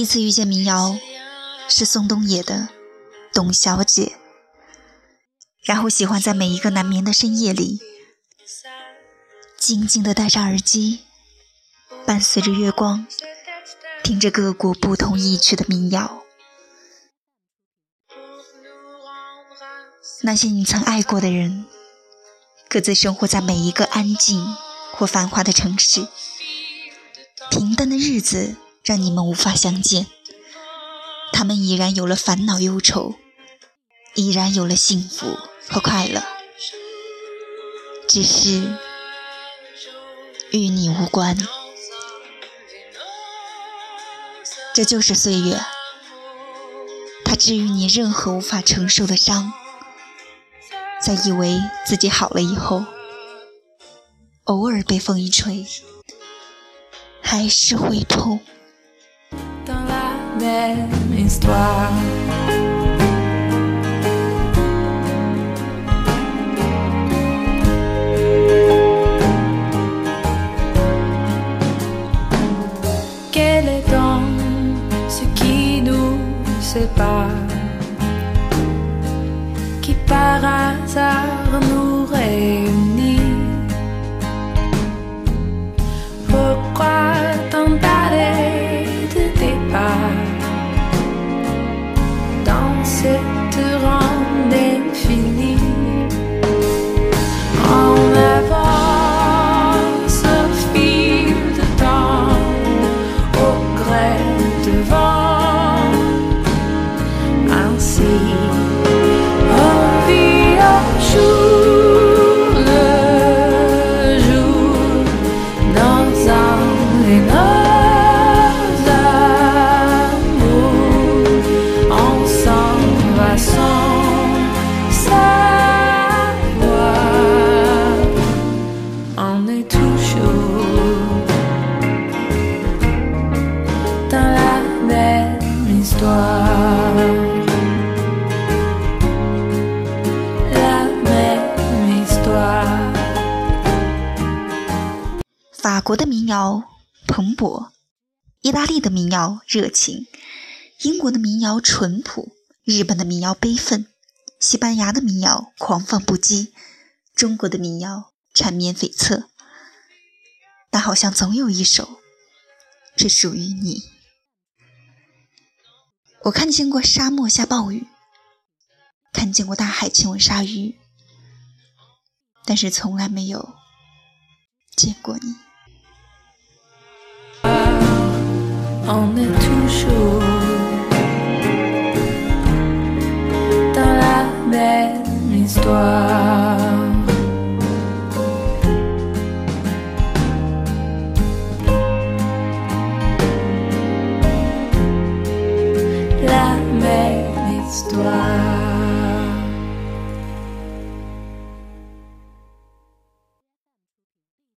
次遇见民谣是宋冬野的《董小姐》，然后喜欢在每一个难眠的深夜里静静地戴上耳机，伴随着月光，听着各国不同意趣的民谣。那些你曾爱过的人，各自生活在每一个安静或繁华的城市，平淡的日子让你们无法相见，他们已然有了烦恼忧愁，已然有了幸福和快乐，只是与你无关。这就是岁月，它治愈你任何无法承受的伤，在以为自己好了以后，偶尔被风一吹，还是会痛。 Qui par hasard nous réunit. Pourquoi tant d'aller de départ dans cette ronde infinie? En avance au fil de temps, au gré de vent, ainsi. Jour le jour, nos âmes et nos amours, on s'en va sans savoir, on est toujours dans la même histoire. 法国的民谣蓬勃，意大利的民谣热情，英国的民谣淳朴，日本的民谣悲愤，西班牙的民谣狂放不羁，中国的民谣缠绵悱恻，但好像总有一首是属于你。我看见过沙漠下暴雨，看见过大海亲吻鲨鱼，但是从来没有见过你。 On est toujours dans la même histoire. La même histoire.